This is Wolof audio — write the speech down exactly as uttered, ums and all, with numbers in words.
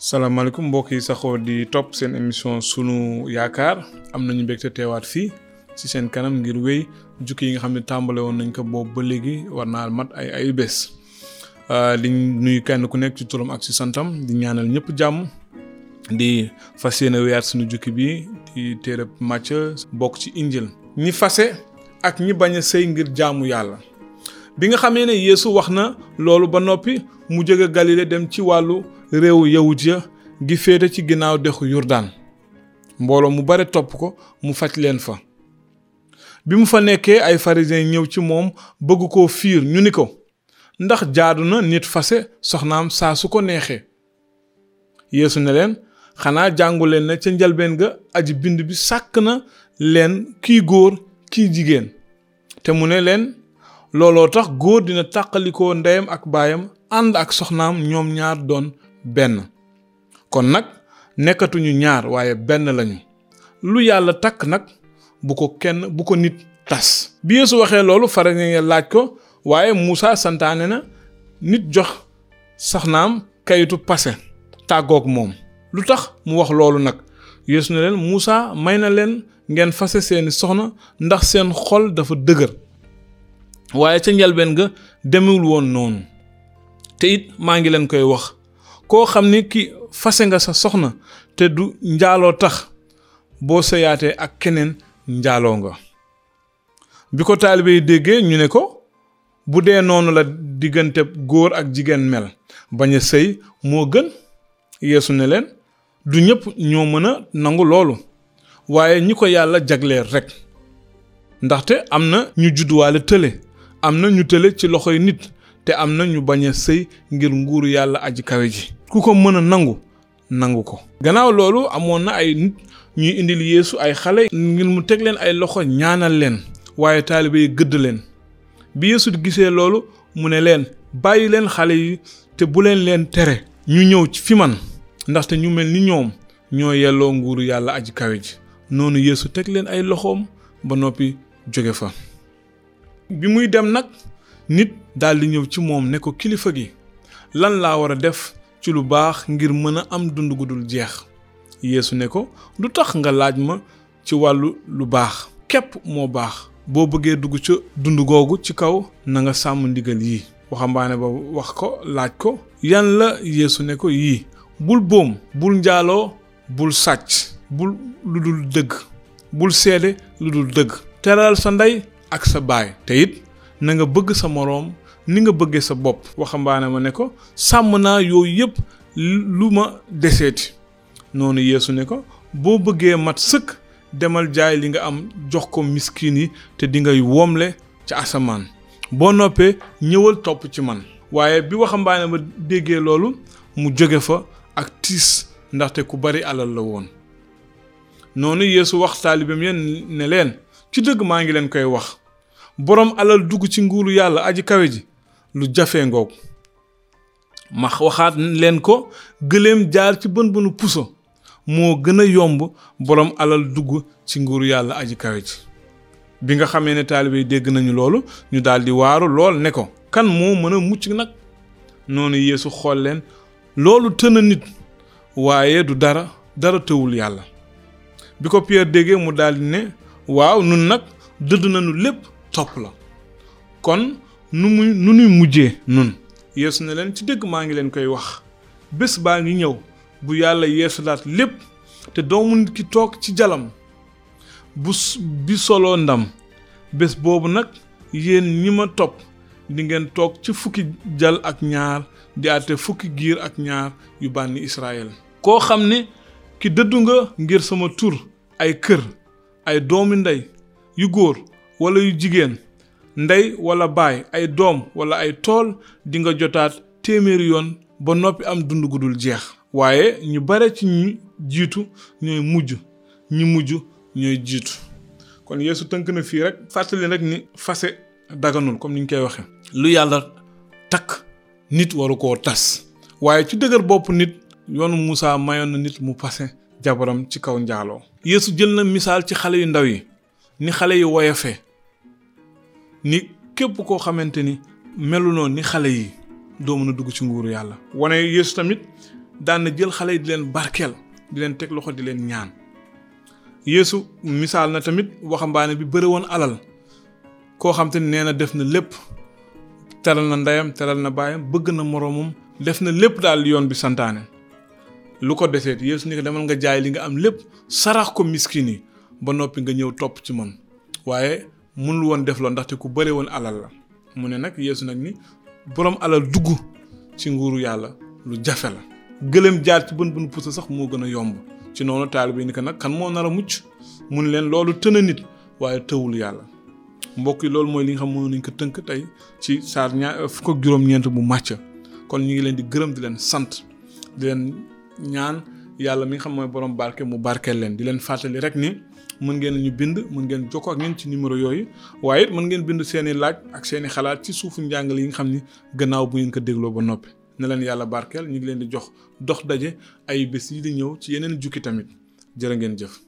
salaamaaleykum mbokk yi saxoo di topp seen émission sunu yaakaar am nañu mbégte teewaat fii ci seen kanam ngir wéy jukki yi nga xam ne tàmbale woon nañ ko boobu ba léegi war naa mat ay ay bés di nuyu kenn ku nekk ci turam ak ci santam di ñaanal ñëpp jàmm di fas yéene wéyaat sunu jukki bi di téereb Macë bokk ci injil ñi fase ak ñi bañ a sëy ngir jaamu yàlla bi nga xamee ne Yeesu wax na loolu ba noppi mu jóge Galile dem ci wàllu réewu yawut ya gi féete ci ginnaaw dexu Yordaan mbooloo mu bare topp ko mu faj leen fa bi mu fa nekkee ay pharisiens ñëw ci moom bëgg koo fiir ñu ni ko ndax jaadu na nit fase soxnaam saa su ko neexee Yeesu ne leen xanaa jàngu leen ne ca njalbeen ga aji bind bi sàkk na leen kii góor kii jigéen te mu ne leen looloo tax góor dina tàqalikoo ndeyam ak baayam ànd ak soxnaam ñoom ñaar doon benn kon nag nekkatuñu ñaar waaye benn lañu lu yàlla takk nag bu ko kenn bu ko nit tas bi Yeesu waxee loolu pharisiens yi laaj ko waaye Muusaa santaane na nit jox soxnaam kayitu pase tàggoog moom lu tax mu wax loolu nag Yeesu ne leen Muusaa may na leen ngeen fase seeni soxna ndax seen xol dafa dëgër waaye ca njalbeen ga demewul woon noonu te it maa ngi leen koy wax koo xam ni ki fase nga sa soxna te du njaaloo tax boo sëyaatee ak keneen njaaloo nga bi ko taalibe yi déggee ñu ne ko bu dee noonu la diggante góor ak jigéen mel bañ a sëy moo gën Yeesu ne leen du ñëpp ñoo mën a nangu loolu waaye ñi ko yàlla jagleel rekk ndaxte am na ñu judduwaale tële am na ñu tële ci loxoy nit te am na ñu bañ a sëy ngir nguuru yàlla aji kawe ji ku ko mën a nangu nangu ko gannaaw loolu amoon na ay nit ñuy indil Yeesu ay xale ngir mu teg leen ay loxo ñaanal leen waaye taalibe yi gëdd leen bi Yeesu gisee loolu mu ne leen bàyyi leen xale yi te bu leen leen tere ñu ñëw ci fi man ndaxte ñu mel ni ñoom ñoo yelloo nguuru yàlla aji kawe ji noonu Yeesu teg leen ay loxoom ba noppi jóge fa bi muy dem nag nit daldi ñëw ci moom ne ko kilifa gi lan laa war a def ci lu baax ngir mën a am dund gu dul jeex Yeesu ne ko du tax nga laaj ma ci wàllu lu baax képp moo baax boo bëggee dugg ca dund googu ci kaw na nga sàmm ndigal yii waxambaane ba wax ko laaj ko yan la Yeesu ne ko yii bul boom bul njaaloo bul sàcc bul lu dul dëgg bul seede lu dul dëgg teral sa ndey ak sa baay te it na nga bëgg sa moroom ni nga bëggee sa bopp waxambaane ma ne ko sàmm naa yooyu yëpp lu ma deseeti noonu Yeesu ne ko boo bëggee mat sëkk demal jaay li nga am jox ko miskin yi te di ngay woomle ci asamaan boo noppee ñëwal topp ci man waaye bi waxambaane ma déggee loolu mu jóge fa ak tiis ndaxte ku bari alal la woon noonu Yeesu wax taalibeem ya ne leen ci dëgg maa ngi leen koy wax boroom alal dugg ci nguuru yàlla aji kawe ji lu jafee ngoog ma waxaat leen ko gëléem jaar ci bën bënu puso moo gën a yomb boroom alal dugg ci nguuru yàlla aji kawe ji bi nga xamee ne taalibe yi dégg nañu loolu ñu daldi waaru lool ne ko kan moo mën a mucc nag noonu Yeesu xool leen loolu tëna nit waaye du dara dara tëwul yàlla bi ko Pierre déggee mu daldi ne waaw nun nag dëdd nañu lépp topp la kon nu muy nu nuy mujjee nun Yeesu ne leen ci dëgg maa ngi leen koy wax bés baa ngi ñëw bu yàlla yeesalaat lépp te doomu nit ki toog ci jalam bu bi soloo ndam bés boobu nag yéen ñi ma topp di ngeen toog ci fukki jal ak ñaar di àtte fukki giir ak ñaar yu bànni Israël koo xam ne ki dëddu nga ngir sama tur ay kër ay doomi ndey yu góor wala yu jigéen ndey wala baay ay doom wala ay tool di nga jotaat téeméeri yoon ba noppi am dund gu dul jeex waaye ñu bare ci ñi jiitu ñooy mujj ñi mujj ñooy jiitu kon Yeesu tënk na fii rek fàttali rek ni fase daganul comme ni ñu koy waxe lu yàlla takk nit waru koo tas waaye ci dëgër bopp nit yoonu Muusaa mayoon na nit mu fase jabaram ci kaw njaaloo Yeesu jël na misaal ci xale yu ndaw yi ni xale yi woyofe ni képp koo xamante ni melunoo ni xale yi doo mën a dugg ci nguuru yàlla wane Yeesu tamit daan na jël xale yi di leen barkeel di leen teg loxo di leen ñaan. Yeesu misaal na tamit waxambaane bi bëri woon alal koo xam te nee na def na lépp teral na ndeyam teral na baayam bëgg na moroomam def na lépp daal yoon bi santaane lu ko deseet Yeesu ni ko demal nga jaay li nga am lépp sarax ko miskin yi ba noppi nga ñëw topp ci man waaye mënul woon def loolu ndaxte ku bëri woon alal la mu ne nag Yeesu nag ni boroom alal dugg ci nguuru yàlla lu jafe la gëlëm jaar ci bën bën pusa sax moo gën a yomb ci noonu taalibe ni ko nag kan moo nar a mucc mun leen loolu tëna nit waaye tëwul yàlla mbokk yi loolu mooy li nga xam mënoon nañ ko tënk tey ci saar ñaar fukk ak juróom-ñeent bu màcc kon ñu ngi leen di gërëm di leen sant di leen ñaan yàlla mi nga xam mooy borom barke mu barkeel leen di leen fàttali rek ni mën ngeen ñu bind mën ngeen jokkoo ak ñun ci numéro yooyu waaye it mën ngeen bind seeni laaj ak seeni xalaat ci suufu njàngale yi nga xam ni gannaaw bu ngeen ko dégloo ba noppi ne leen yàlla barkeel ñu ngi leen di jox dox daje ay bés yi di ñëw ci yeneen jukki tamit jërë ngeen jëf